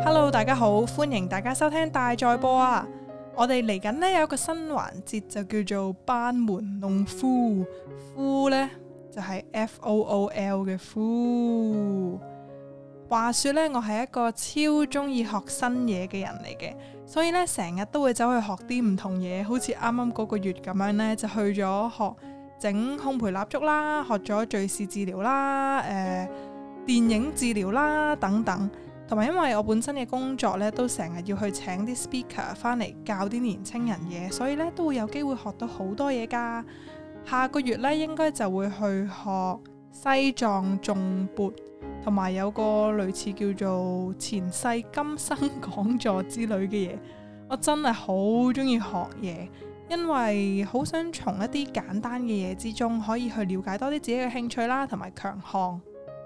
Hello， 大家好，歡迎大家收聽大在播啊！我哋嚟緊呢有一個新環節就叫做班門弄夫，夫呢就係 FOOL 嘅夫。話說呢，我係一個超中意學新嘢嘅人嚟嘅，所以呢成日都會走去學啲唔同嘢，好似啱啱嗰個月咁樣呢，就去咗學整烘焙蠟燭啦，學咗敘事治療啦，電影治療啦等等。同埋因為我本身嘅工作呢，都成日要去請啲 speaker 翻嚟教啲年青人嘢，所以呢都會有機會學到好多嘢噶。下個月呢應該就會去學西藏頌缽，同埋有個類似叫做前世今生講座之類嘅嘢。我真係好中意學嘢，因為好想從一啲簡單嘅嘢之中可以去了解多啲自己嘅興趣啦，同埋強項。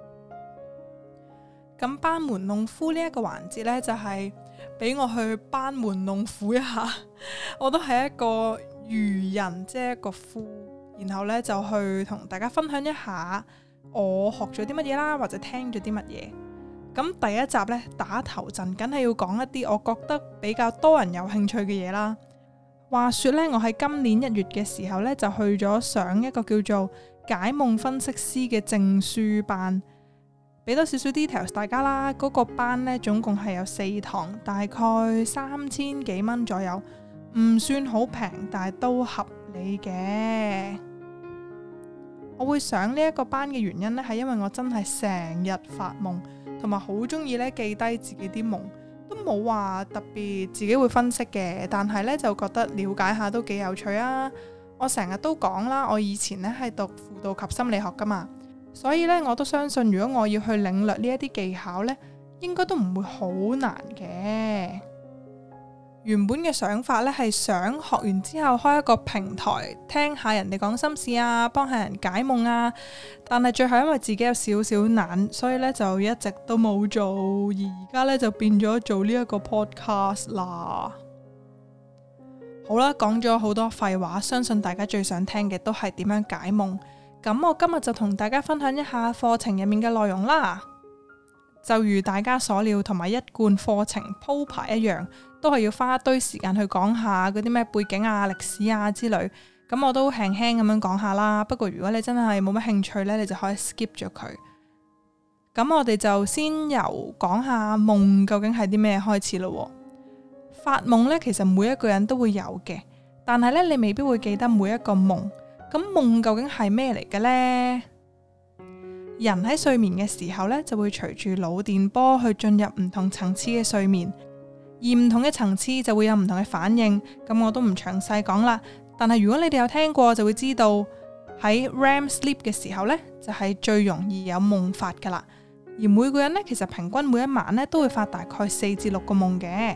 咁班門弄夫呢一個環節呢，就係俾我去班門弄斧一下。我都係一個愚人，即係一個夫，然後呢，就去同大家分享一下我學咗啲乜嘢啦，或者聽咗啲乜嘢。咁第一集呢，打頭陣，梗係要講一啲我覺得比較多人有興趣嘅嘢啦。話說呢，我喺今年1月嘅時候呢，就去咗上一個叫做解夢分析師嘅證書班。俾多少少 details 大家啦，嗰個班呢，總共係有4堂，大概3000幾蚊左右，唔算好平，但係都合理嘅。我會上呢一個班嘅原因呢，係因為我真係成日發夢，同埋好中意呢記低自己啲夢，都冇話特別自己會分析嘅，但係呢，就覺得了解下都幾有趣啊。我成日都講啦，我以前呢係讀輔導及心理學噶嘛。所以呢，我都相信如果我要去領略呢一啲技巧呢，應該都唔會好難嘅。原本嘅想法呢，係想學完之後開一個平台，聽下人哋講心事啊，幫下人解夢啊。但係最後因為自己有少少懶，所以呢就一直都冇做。而家呢，就變咗做呢一個 podcast 啦。好啦，講咗好多廢話，相信大家最想聽嘅都係點樣解夢。咁我今日就同大家分享一下課程入面嘅內容啦。就如大家所料，同埋一貫課程鋪排一樣，都係要花一堆時間去講下嗰啲咩背景啊、歷史啊之類。咁我都輕輕咁樣講下啦。不過如果你真係冇乜興趣呢，你就可以 skip 咗佢。咁我哋就先由講下夢究竟係啲咩開始咯。發夢呢，其實每一個人都會有嘅，但係呢，你未必會記得每一個夢。咁夢究竟係咩嚟嘅呢？人喺睡眠嘅時候呢，就會隨住腦電波去進入唔同層次嘅睡眠，而唔同嘅層次就會有唔同嘅反應。咁我都唔詳細講啦。但係如果你哋有聽過，就會知道喺 REM sleep 嘅時候呢，就係最容易有夢發噶啦。而每個人呢，其實平均每一晚呢，都會發大概4至6個夢嘅。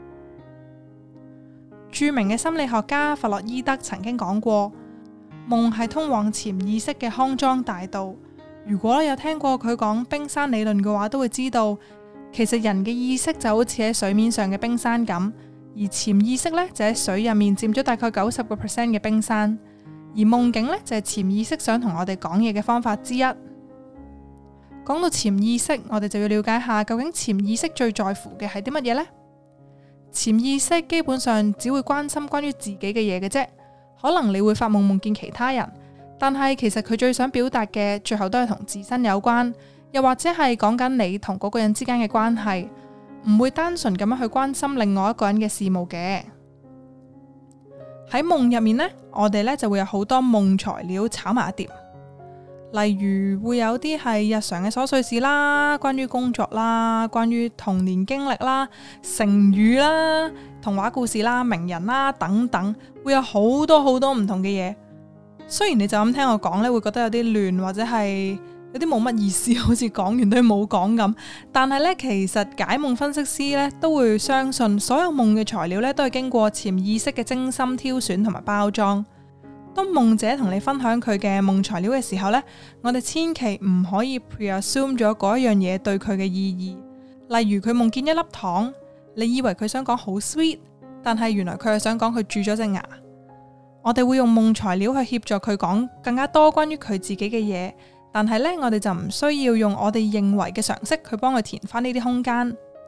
著名嘅心理學家弗洛伊德曾經講過，夢係通往潛意識嘅康莊大道。如果有聽過佢講冰山理論嘅話，都會知道其實人嘅意識就好似喺水面上嘅冰山咁，而潛意識呢，就喺水入面佔咗大概90% 嘅冰山，而夢境呢，就係潛意識想同我哋講嘢嘅方法之一。講到潛意識，我哋就要了解下究竟潛意識最在乎嘅係啲乜嘢呢？潛意識基本上只會關心關於自己嘅嘢嘅啫。可能你會發夢夢見其他人，但係其實佢最想表達嘅最後都係同自身有關，又或者係講緊你同嗰個人之間嘅關係，唔會單純咁樣去關心另外一個人嘅事務嘅。喺夢入面呢，我哋呢就會有好多夢材料炒埋一碟，例如會有啲係日常嘅瑣碎事啦，關於工作啦，關於童年經歷啦，成語啦，童話故事啦，名人啦等等，會有好多好多唔同嘅嘢。雖然你就咁聽我講呢，會覺得有啲亂，或者係有啲冇乜意思，好似講完都冇講咁。但係呢，其實解夢分析師呢都會相信，所有夢嘅材料呢都係經過潛意識嘅精心挑選同埋包裝。當夢者同你分享佢嘅夢材料嘅時候呢，我哋千祈唔可以 preassume 咗嗰一樣嘢對佢嘅意義。例如佢夢見一粒糖，你以為佢想講好 sweet， 但係原來佢係想講佢蛀咗隻牙。我哋會用夢材料去協助佢講更加多關於佢自己嘅嘢，但係呢，我哋就唔需要用我哋認為嘅常識去幫佢填翻呢啲空間。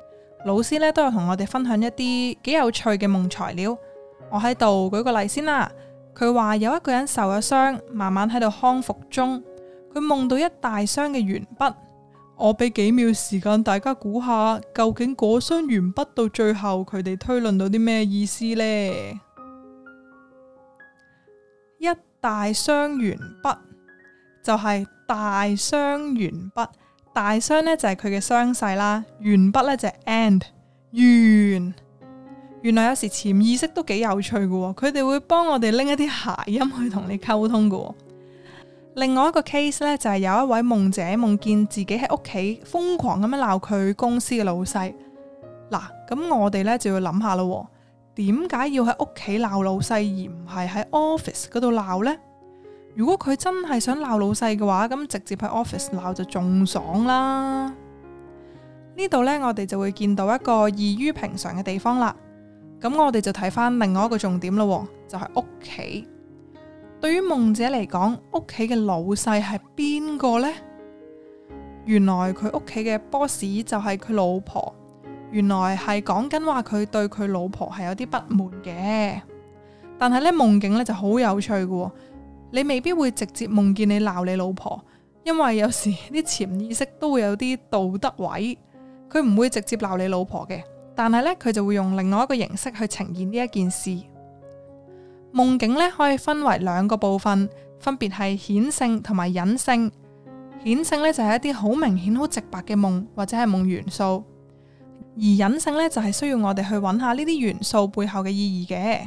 老師呢都有同我哋分享一啲幾有趣嘅夢材料。我喺度舉個例先啦。佢話有一個人受咗傷，慢慢喺度康復中，佢夢到一大箱嘅鉛筆。我俾幾秒時間大家估下，究竟嗰箱鉛筆到最後佢哋推論到啲咩意思呢？一大箱鉛筆就係大箱鉛筆，大箱呢就係佢嘅傷勢啦，鉛筆呢就係 end 鉛。原來有時潛意識都幾有趣嘅，佢哋會幫我哋拎一啲諧音去同你溝通嘅。另外一個 case 呢，就係有一位夢者夢見自己喺屋企瘋狂咁樣鬧佢公司嘅老細。嗱，咁我哋呢就要諗下咯，點解要喺屋企鬧老細而唔係喺 office 嗰度鬧呢？如果佢真係想鬧老細嘅話，咁直接喺 office 鬧就仲爽啦。呢度呢，我哋就會見到一個異於平常嘅地方啦。咁我哋就睇翻另外一個重點咯，就係屋企。對於夢者嚟講，屋企嘅老細係邊個呢？原來佢屋企嘅 boss 就係佢老婆。原來係講緊話佢對佢老婆係有啲不滿嘅。但係呢，夢境呢就好有趣嘅，你未必會直接夢見你鬧你老婆，因為有時啲潛意識都會有啲道德位，佢唔會直接鬧你老婆嘅。但係呢，佢就會用另外一個形式去呈現呢一件事。夢境呢可以分為兩個部分，分別係顯性同埋隱性。顯性呢就係一啲好明顯、好直白嘅夢或者係夢元素，而隱性呢就係需要我哋去揾下呢啲元素背後嘅意義嘅。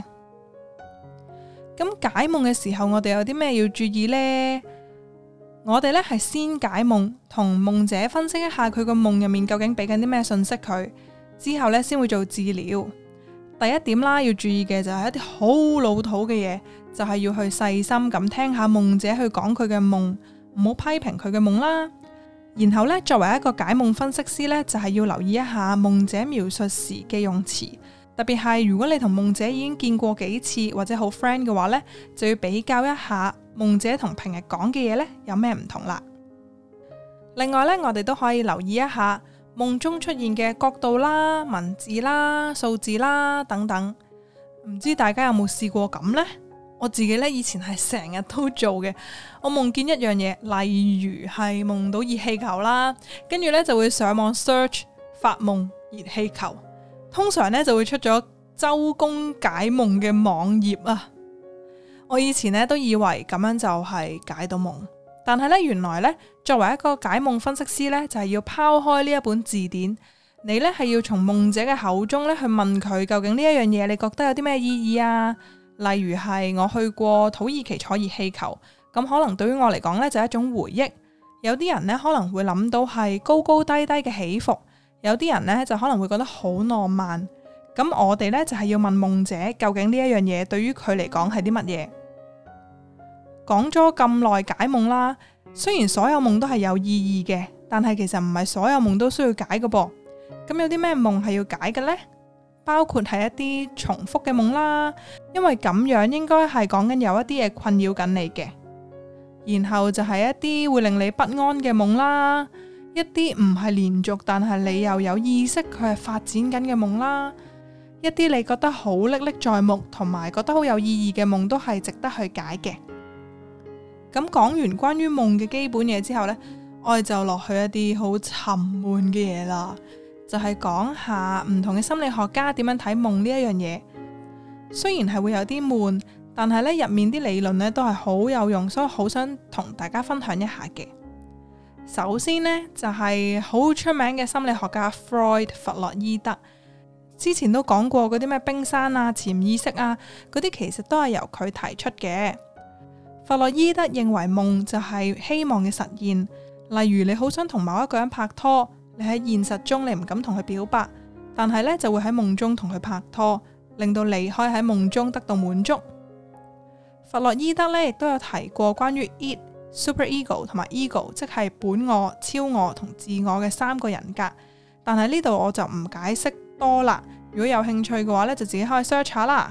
咁解夢嘅時候，我哋有啲咩要注意呢？我哋呢係先解夢，同夢者分析一下佢個夢入面究竟俾緊啲咩信息佢。之後呢，先會做治療。第一點啦，要注意嘅就係一啲好老土嘅嘢，就係要去細心咁聽下夢者去講佢嘅夢，唔好批評佢嘅夢啦。然後呢，作為一個解夢分析師呢，就係要留意一下夢者描述時嘅用詞，特別係如果你同夢者已經見過幾次或者好 friend 嘅話呢，就要比較一下夢者同平日講嘅嘢呢有咩唔同啦。另外呢，我哋都可以留意一下夢中出現嘅角度啦、文字啦、數字啦等等，唔知大家有冇試過咁呢？我自己呢，以前係成日都做嘅。我夢見一樣嘢，例如係夢到熱氣球啦，跟住呢就會上網 search 發夢熱氣球，通常呢就會出咗周公解夢嘅網頁啊。我以前呢都以為咁樣就係解到夢。但係咧，原來咧，作為一個解夢分析師咧，就係要拋開呢一本字典，你咧係要從夢者嘅口中咧去問佢究竟呢一樣嘢，你覺得有啲咩意義啊？例如係我去過土耳其坐熱氣球，咁可能對於我嚟講咧就係一種回憶。有啲人咧可能會諗到係高高低低嘅起伏，有啲人咧就可能會覺得好浪漫。咁我哋咧就係要問夢者究竟呢一樣嘢對於佢嚟講係啲乜嘢？講咗咁耐解夢啦，雖然所有夢都係有意義嘅，但係其實唔係所有夢都需要解嘅噃。咁有啲咩夢係要解嘅呢？包括係一啲重複嘅夢啦，因為咁樣應該係講緊有一啲嘢困擾緊你嘅。然後就係一啲會令你不安嘅夢啦，一啲唔係連續但係你又有意識佢係發展緊嘅夢啦，一啲你覺得好歷歷在目同埋覺得好有意義嘅夢都係值得去解嘅。咁講完關於夢嘅基本嘢之後呢，我哋就落去一啲好沉悶嘅嘢啦，就係講下唔同嘅心理學家點樣睇夢呢一樣嘢。雖然係會有啲悶，但係呢入面啲理論呢都係好有用，所以好想同大家分享一下嘅。首先呢，就係好出名嘅心理學家 Freud 弗洛伊德，之前都講過嗰啲咩冰山啊、潛意識啊嗰啲，其實都係由佢提出嘅。弗洛伊德認為夢就係希望嘅實現，例如你好想同某一個人拍拖，你喺現實中你唔敢同佢表白，但係呢就會喺夢中同佢拍拖，令到你可以喺夢中得到滿足。弗洛伊德呢亦都有提過關於 id、superego 同埋 ego， 即係本我、超我同自我嘅三個人格，但係呢度我就唔解釋多啦。如果有興趣嘅話呢，就自己可以 search 下啦。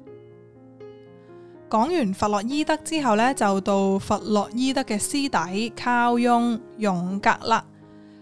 講完弗洛伊德之後呢，就到弗洛伊德嘅師弟卡翁、榮格啦。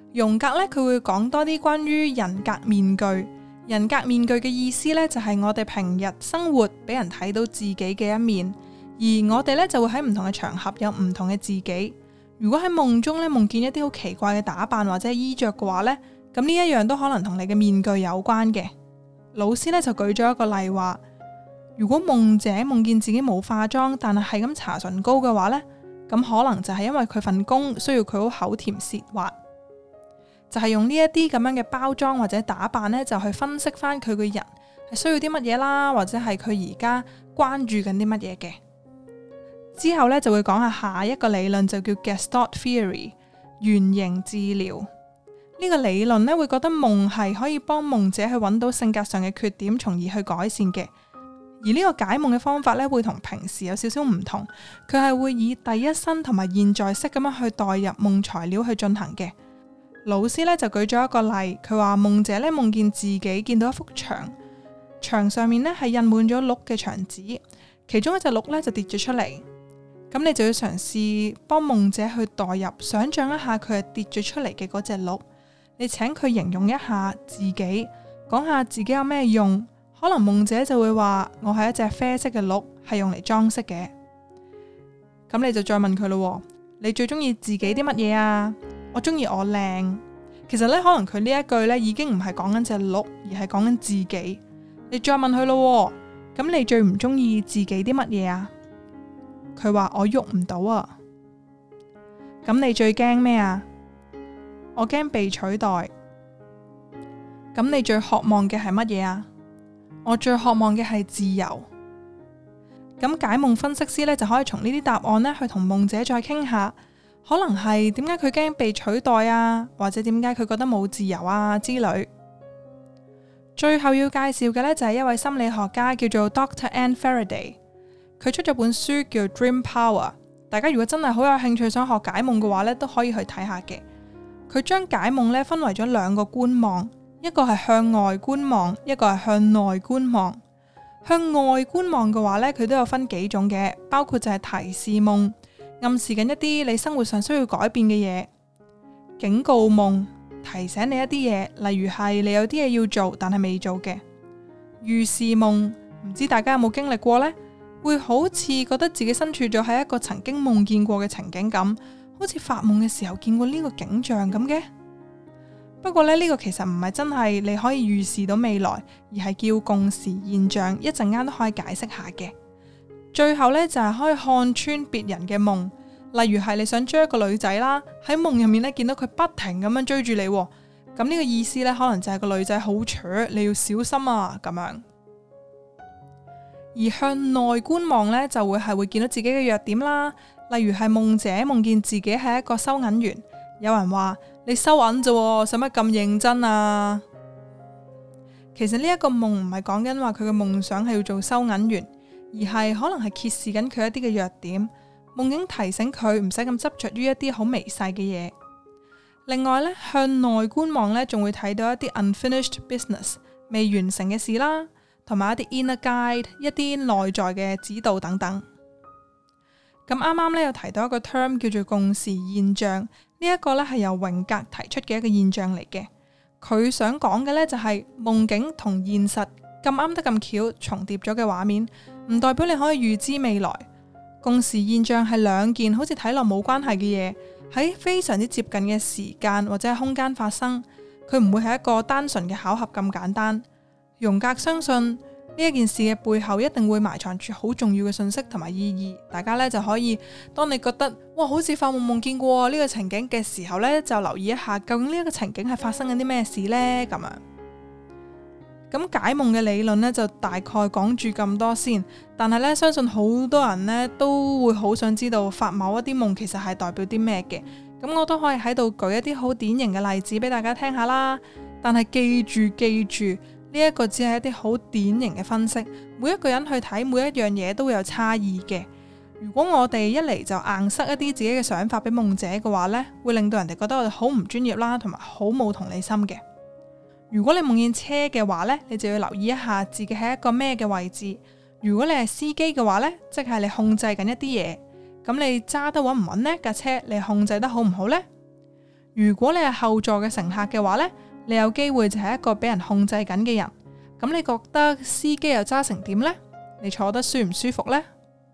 榮格呢，佢會講多啲關於人格面具。人格面具嘅意思呢，就係我哋平日生活俾人睇到自己嘅一面，而我哋呢，就會喺唔同嘅場合有唔同嘅自己。如果喺夢中呢，夢見一啲好奇怪嘅打扮或者衣着嘅話呢，咁呢一樣都可能同你嘅面具有關嘅。老師呢，就舉咗一個例話，如果夢者夢見自己冇化妝，但係咁搽唇膏嘅話呢，咁可能就係因為佢份工需要佢好口甜舌滑。就係用呢一啲咁樣嘅包裝或者打扮呢，就去分析翻佢個人係需要啲乜嘢啦，或者係佢而家關注緊啲乜嘢嘅。之後呢，就會講下一個理論，就叫 Gestalt Theory 原型治療。呢個理論呢，會覺得夢係可以幫夢者去揾到性格上嘅缺點，從而去改善嘅。而呢個解夢嘅方法呢，會同平時有少少唔同，佢係會以第一身同埋現在式咁樣去代入夢材料去進行嘅。老師呢就舉咗一個例，佢話夢者呢夢見自己見到一幅牆，牆上面呢係印滿咗鹿嘅牆紙，其中一隻鹿呢就跌咗出嚟。咁你就要嘗試幫夢者去代入，想象一下佢係跌咗出嚟嘅嗰隻鹿。你請佢形容一下自己，講下自己有咩用。可能夢者就會話：我係一隻啡色嘅鹿，係用嚟裝飾嘅。咁你就再問佢咯，你最中意自己啲乜嘢啊？我中意我靚。其實呢，可能佢呢一句呢已經唔係講緊隻鹿，而係講緊自己。你再問佢咯，咁你最唔中意自己啲乜嘢啊？佢話我喐唔到啊。咁你最驚咩啊？我驚被取代。咁你最渴望嘅係乜嘢啊？我最渴望嘅係自由。咁解夢分析師呢，就可以從呢啲答案呢去同夢者再傾下。可能係點解佢驚被取代啊，或者點解佢覺得冇自由啊之類。最後要介紹嘅呢，就係一位心理學家叫做 Dr. Anne Faraday， 佢出咗本書叫 Dream Power。大家如果真係好有興趣想學解夢嘅話呢，都可以去睇下嘅。佢將解夢呢分為咗兩個觀望，一個係向外觀望，一個係向內觀望。向外觀望嘅話呢，佢都有分幾種嘅，包括就係提示夢，暗示緊一啲你生活上需要改變嘅嘢；警告夢，提醒你一啲嘢，例如係你有啲嘢要做但係未做嘅；預示夢，唔知大家有冇經歷過呢？會好似覺得自己身處咗喺一個曾經夢見過嘅情景咁，好似發夢嘅時候見過呢個景象咁嘅。不過呢個其實唔係真係你可以預示到未來，而係叫共時現象，一陣間都可以解釋下嘅。最後呢，就係可以看穿別人嘅夢，例如係你想追一個女仔啦，喺夢入面呢見到佢不停咁樣追住你，咁呢個意思呢，可能就係個女仔好蠢，你要小心啊咁樣。而向內觀望呢，就會見到自己嘅弱點啦，例如係夢者夢見自己係一個收銀員，有人話你收銀啫，使乜咁認真啊？其實呢一個夢唔係講緊話佢嘅夢想係要做收銀員，而係可能係揭示緊佢一啲嘅弱點，夢境提醒佢唔使咁執着於一啲好微細嘅嘢。另外呢，向內觀望呢，仲會睇到一啲 unfinished business 未完成嘅事啦，同埋一啲 inner guide 一啲內在嘅指導等等。咁啱啱呢，有提到一個 term 叫做共時現象，呢一個呢係由榮格提出嘅一個現象嚟嘅。佢想講嘅呢，就係夢境同現實咁啱得咁巧重疊咗嘅畫面，唔代表你可以預知未來。共時現象係兩件好似睇落冇關係嘅嘢，喺非常之接近嘅時間或者係空間發生，佢唔會係一個單純嘅巧合咁簡單。榮格相信呢一件事嘅背後一定會埋藏住好重要嘅信息同埋意義。大家呢就可以，當你覺得哇好似發夢夢見過呢個情景嘅時候呢，就留意一下究竟呢一個情景係發生緊啲咩事呢？咁樣。咁解夢嘅理論呢，就大概講住咁多先，但係呢，相信好多人呢都會好想知道發某一啲夢其實係代表啲咩嘅。咁我都可以喺度舉一啲好典型嘅例子俾大家聽下啦。但係記住呢一個只係一啲好典型嘅分析，每一個人去睇每一樣嘢都會有差異嘅。如果我哋一嚟就硬塞一啲自己嘅想法俾夢者嘅話呢，會令到人哋覺得我哋好唔專業啦，同埋好冇同理心嘅。如果你夢見車嘅話呢，你就要留意一下自己喺一個咩嘅位置。如果你係司機嘅話呢，即係你控制緊一啲嘢，咁你揸得穩唔穩呢？架車你控制得好唔好呢？ 如果你係後座嘅乘客嘅話呢，你有機會就係一個俾人控制緊嘅人。咁你覺得司機又揸成點呢？你坐得舒唔舒服呢？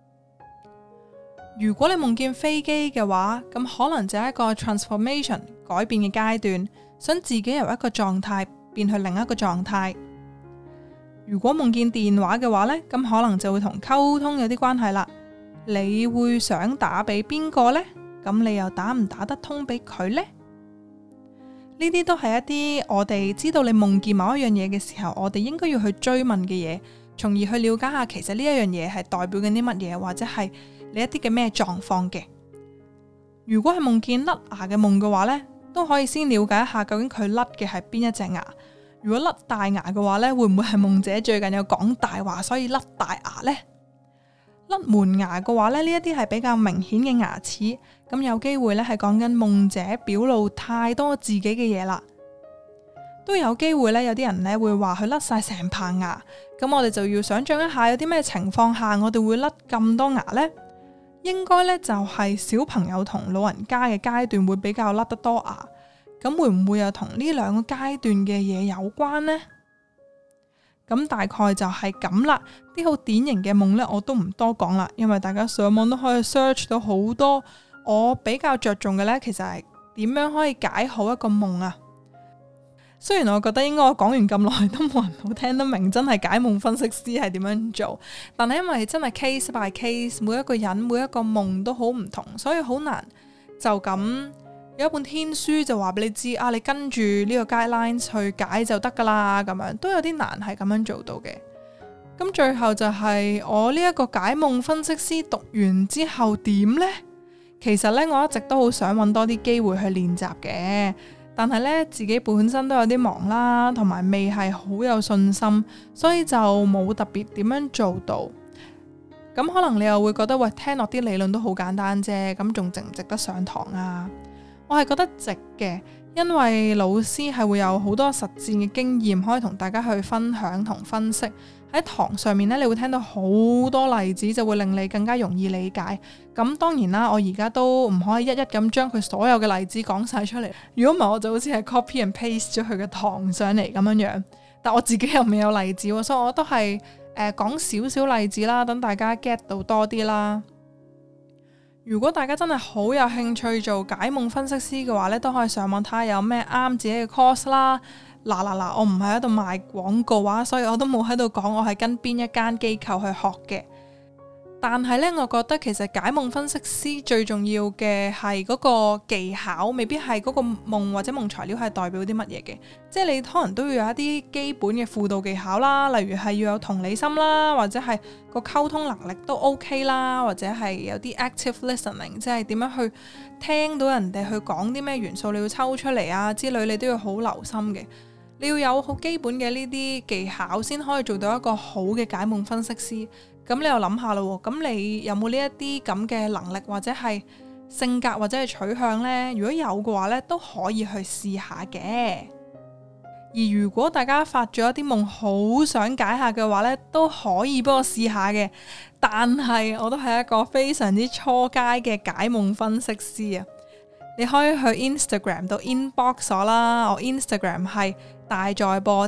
如果你夢見飛機嘅話，咁可能就係一個 transformation 改變嘅階段，想自己由一個狀態變去另一個狀態。如果夢見電話嘅話呢，咁可能就會同溝通有啲關係啦。你會想打俾邊個呢？咁你又打唔打得通俾佢呢？呢啲都係一啲我哋知道你夢見某一樣嘢嘅時候，我哋應該要去追問嘅嘢，從而去了解下其實呢一樣嘢係代表緊啲乜嘢，或者係你一啲嘅咩狀況嘅。如果係夢見甩牙嘅夢嘅話呢，都可以先了解一下究竟佢甩嘅係邊一隻牙。如果甩大牙嘅話呢，會唔會係夢者最近有講大話，所以甩大牙呢？甩門牙嘅話呢，呢一啲係比較明顯嘅牙齒，咁有機會呢係講緊夢者表露太多自己嘅嘢啦。都有機會呢，有啲人呢會話佢甩晒成棚牙，咁我哋就要想象一下有啲咩情況下我哋會甩咁多牙呢？應該呢就係小朋友同老人家嘅階段會比較甩得多牙，咁會唔會又同呢兩個階段嘅嘢有關呢？咁大概就係咁啦。啲好典型嘅夢呢，我都唔多講啦，因為大家上網都可以 search 到好多。我比較着重嘅呢，其實係點樣可以解好一個夢啊。雖然我覺得應該我講完咁耐都冇人好聽得明，真係解夢分析師係點樣做，但係因為真係 case by case，每一個人每一個夢都好唔同，所以好難就咁有一本天書就話俾你知啊，你跟住呢個 guidelines 去解就得噶啦，咁樣都有啲難係咁樣做到嘅。咁最後就係我呢一個解夢分析師讀完之後點呢？其實呢，我一直都好想揾多啲機會去練習嘅，但係呢，自己本身都有啲忙啦，同埋未係好有信心，所以就冇特別點樣做到。咁可能你又會覺得喂，聽落啲理論都好簡單啫，咁仲值唔值得上堂啊？我係覺得值嘅，因為老師係會有好多實戰嘅經驗可以同大家去分享同分析。喺堂上面呢，你會聽到好多例子，就會令你更加容易理解。咁當然啦，我而家都唔可以一一咁將佢所有嘅例子講晒出嚟。如果唔係，我就好似係 copy and paste 咗佢嘅堂上嚟咁樣樣。但我自己又未有例子，所以我都係講少少例子啦，等大家 get 到多啲啦。如果大家真係好有興趣做解夢分析師嘅話呢，都可以上網睇下有咩啱自己嘅 course 啦。嗱，我唔係喺度賣廣告啊，所以我都冇喺度講我係跟邊一間機構去學嘅。但係呢，我覺得其實解夢分析師最重要嘅係嗰個技巧，未必係嗰個夢或者夢材料係代表啲乜嘢嘅。即係你可能都要有一啲基本嘅輔導技巧啦，例如係要有同理心啦，或者係個溝通能力都 OK 啦，或者係有啲 active listening， 即係點樣去聽到人哋去講啲咩元素，你要抽出嚟啊之類，你都要好留心嘅。你要有好基本嘅呢啲技巧，先可以做到一個好嘅解夢分析師。咁你又諗下咯，咁你有冇呢一啲咁嘅能力，或者係性格，或者係取向呢？如果有嘅話呢，都可以去試下嘅。而如果大家發咗一啲夢好想解下嘅話呢，都可以幫我試下嘅。但係我都係一個非常之初階嘅解夢分析師啊！你可以去 Instagram 度 inbox 我啦，我 Instagram 係大在播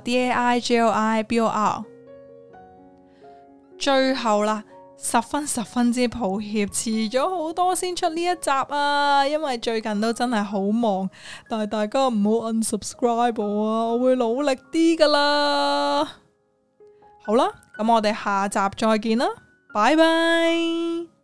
DAIJOIBOR。最後啦，十分之抱歉，遲咗好多先出呢一集啊，因為最近都真係好忙，但係大家唔好 unsubscribe 我啊，我會努力啲噶啦。好啦，咁我哋下集再見啦，拜拜。